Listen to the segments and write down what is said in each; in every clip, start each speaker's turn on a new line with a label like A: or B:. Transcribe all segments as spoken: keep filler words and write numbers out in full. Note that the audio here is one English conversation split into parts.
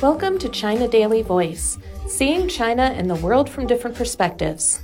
A: Welcome to China Daily Voice, seeing China and the world from different perspectives.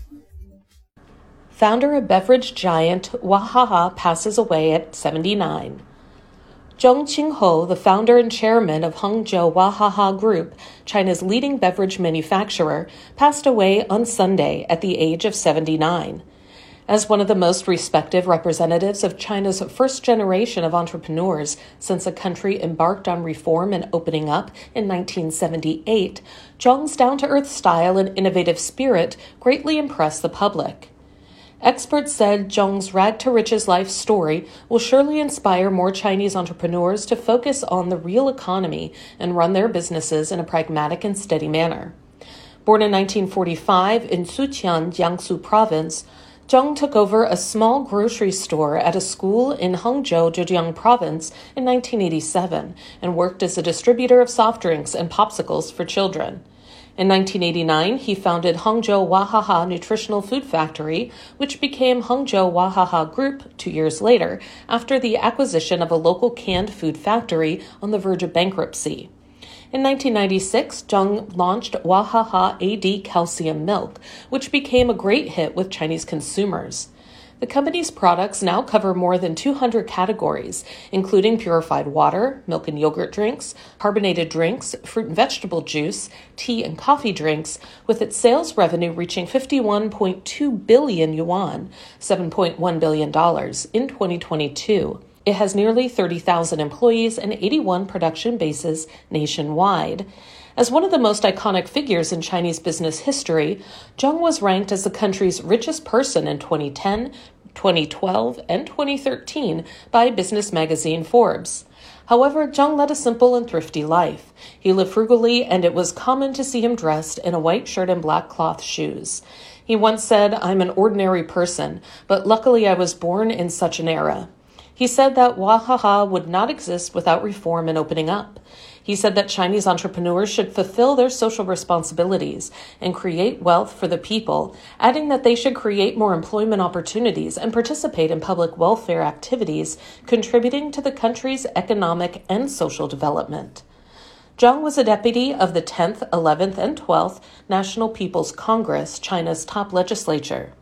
A: Founder of beverage giant Wahaha passes away at seventy-nine. Zhong Qingho, the founder and chairman of Hangzhou Wahaha Group, China's leading beverage manufacturer, passed away on Sunday at the age of seventy-nine. As one of the most respected representatives of China's first generation of entrepreneurs since the country embarked on reform and opening up in nineteen seventy-eight, Zhong's down-to-earth style and innovative spirit greatly impressed the public. Experts said Zhong's rag-to-riches life story will surely inspire more Chinese entrepreneurs to focus on the real economy and run their businesses in a pragmatic and steady manner. Born in nineteen forty-five in Suqian, Jiangsu Province, Zhong took over a small grocery store at a school in Hangzhou, Zhejiang Province in nineteen eighty-seven and worked as a distributor of soft drinks and popsicles for children. In nineteen eighty-nine, he founded Hangzhou Wahaha Nutritional Food Factory, which became Hangzhou Wahaha Group two years later after the acquisition of a local canned food factory on the verge of bankruptcy. In nineteen ninety-six, Zhong launched Wahaha A D Calcium Milk, which became a great hit with Chinese consumers. The company's products now cover more than two hundred categories, including purified water, milk and yogurt drinks, carbonated drinks, fruit and vegetable juice, tea and coffee drinks, with its sales revenue reaching fifty-one point two billion yuan, seven point one billion dollars, in twenty twenty-two. It has nearly thirty thousand employees and eighty-one production bases nationwide. As one of the most iconic figures in Chinese business history, Zhong was ranked as the country's richest person in twenty ten, twenty twelve, and twenty thirteen by business magazine Forbes. However, Zhong led a simple and thrifty life. He lived frugally, and it was common to see him dressed in a white shirt and black cloth shoes. He once said, "I'm an ordinary person, but luckily I was born in such an era." He said that Wahaha would not exist without reform and opening up. He said that Chinese entrepreneurs should fulfill their social responsibilities and create wealth for the people, adding that they should create more employment opportunities and participate in public welfare activities, contributing to the country's economic and social development. Zhong was a deputy of the tenth, eleventh, and twelfth National People's Congress, China's top legislature.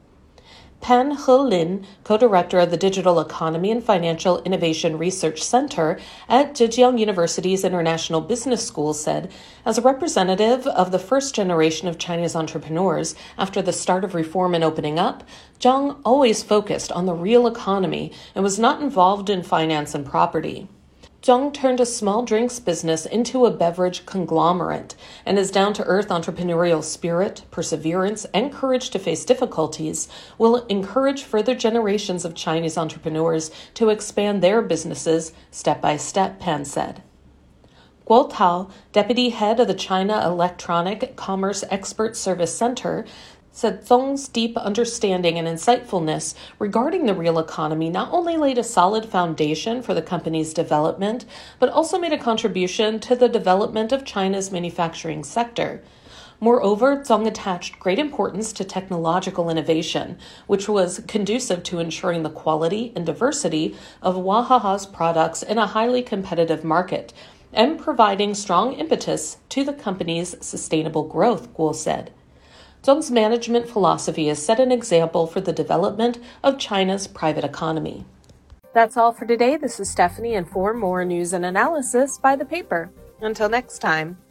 A: Pan Helin, co-director of the Digital Economy and Financial Innovation Research Center at Zhejiang University's International Business School, said, as a representative of the first generation of Chinese entrepreneurs after the start of reform and opening up, Zhong always focused on the real economy and was not involved in finance and property. Zhong turned a small drinks business into a beverage conglomerate, and his down-to-earth entrepreneurial spirit, perseverance, and courage to face difficulties will encourage further generations of Chinese entrepreneurs to expand their businesses step by step, Pan said. Guo Tao, deputy head of the China Electronic Commerce Expert Service Center, said Zhong's deep understanding and insightfulness regarding the real economy not only laid a solid foundation for the company's development, but also made a contribution to the development of China's manufacturing sector. Moreover, Zhong attached great importance to technological innovation, which was conducive to ensuring the quality and diversity of Wahaha's products in a highly competitive market, and providing strong impetus to the company's sustainable growth, Guo said. Zhong's management philosophy has set an example for the development of China's private economy. That's all for today. This is Stephanie, and for more news and analysis, buy the paper. Until next time.